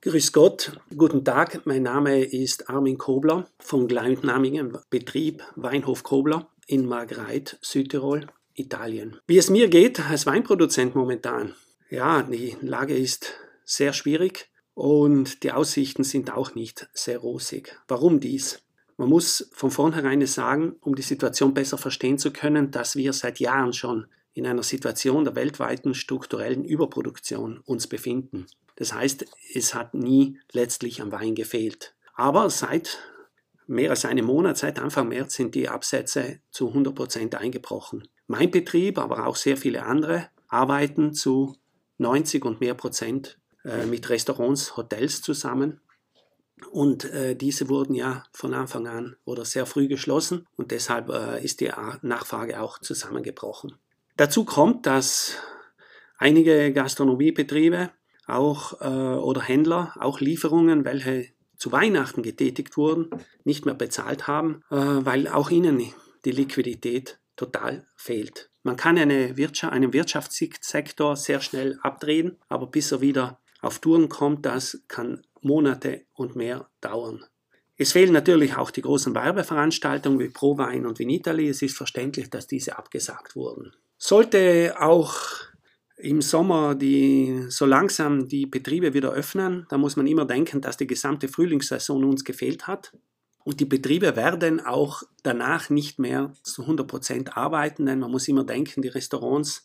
Grüß Gott, guten Tag, mein Name ist Armin Kobler vom gleichnamigen Betrieb Weinhof Kobler in Margreid, Südtirol, Italien. Wie es mir geht als Weinproduzent momentan? Ja, die Lage ist sehr schwierig und die Aussichten sind auch nicht sehr rosig. Warum dies? Man muss von vornherein sagen, um die Situation besser verstehen zu können, dass wir seit Jahren schon in einer Situation der weltweiten strukturellen Überproduktion uns befinden. Das heißt, es hat nie letztlich am Wein gefehlt. Aber seit mehr als einem Monat, seit Anfang März, sind die Absätze zu 100% eingebrochen. Mein Betrieb, aber auch sehr viele andere, arbeiten zu 90 und mehr Prozent mit Restaurants, Hotels zusammen. Und diese wurden ja von Anfang an oder sehr früh geschlossen und deshalb ist die Nachfrage auch zusammengebrochen. Dazu kommt, dass einige Gastronomiebetriebe auch oder Händler auch Lieferungen, welche zu Weihnachten getätigt wurden, nicht mehr bezahlt haben, weil auch ihnen die Liquidität total fehlt. Man kann einen Wirtschaftssektor sehr schnell abdrehen, aber bis er wieder auf Touren kommt, das kann Monate und mehr dauern. Es fehlen natürlich auch die großen Werbeveranstaltungen wie ProWein und Vinitaly. Es ist verständlich, dass diese abgesagt wurden. Sollte auch im Sommer so langsam die Betriebe wieder öffnen, da muss man immer denken, dass die gesamte Frühlingssaison uns gefehlt hat. Und die Betriebe werden auch danach nicht mehr zu 100% arbeiten, denn man muss immer denken, in den Restaurants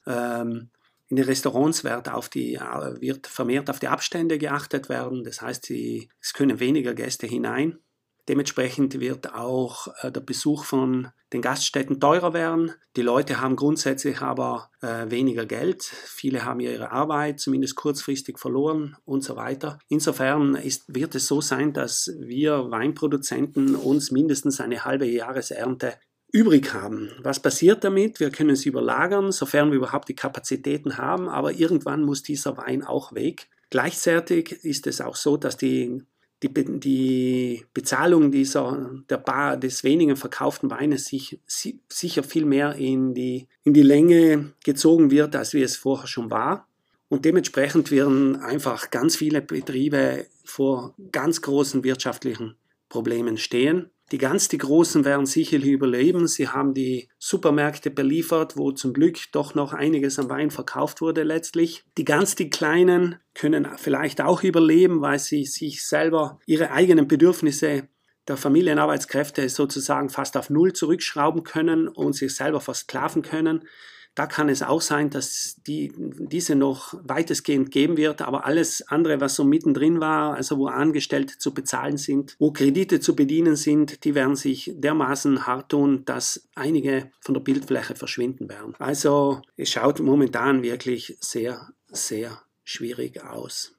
wird vermehrt auf die Abstände geachtet werden. Das heißt, es können weniger Gäste hinein. Dementsprechend wird auch der Besuch von den Gaststätten teurer werden. Die Leute haben grundsätzlich aber weniger Geld. Viele haben ihre Arbeit zumindest kurzfristig verloren und so weiter. Insofern wird es so sein, dass wir Weinproduzenten uns mindestens eine halbe Jahresernte übrig haben. Was passiert damit? Wir können es überlagern, sofern wir überhaupt die Kapazitäten haben, aber irgendwann muss dieser Wein auch weg. Gleichzeitig ist es auch so, dass die Bezahlung des wenigen verkauften Weines sicher viel mehr in die Länge gezogen wird, als wie es vorher schon war. Und dementsprechend werden einfach ganz viele Betriebe vor ganz großen wirtschaftlichen Problemen stehen. Die Großen werden sicherlich überleben. Sie haben die Supermärkte beliefert, wo zum Glück doch noch einiges an Wein verkauft wurde letztlich. Die Kleinen können vielleicht auch überleben, weil sie sich selber ihre eigenen Bedürfnisse der Familienarbeitskräfte sozusagen fast auf Null zurückschrauben können und sich selber versklaven können. Da kann es auch sein, dass diese noch weitestgehend geben wird, aber alles andere, was so mittendrin war, also wo Angestellte zu bezahlen sind, wo Kredite zu bedienen sind, die werden sich dermaßen hart tun, dass einige von der Bildfläche verschwinden werden. Also es schaut momentan wirklich sehr, sehr schwierig aus.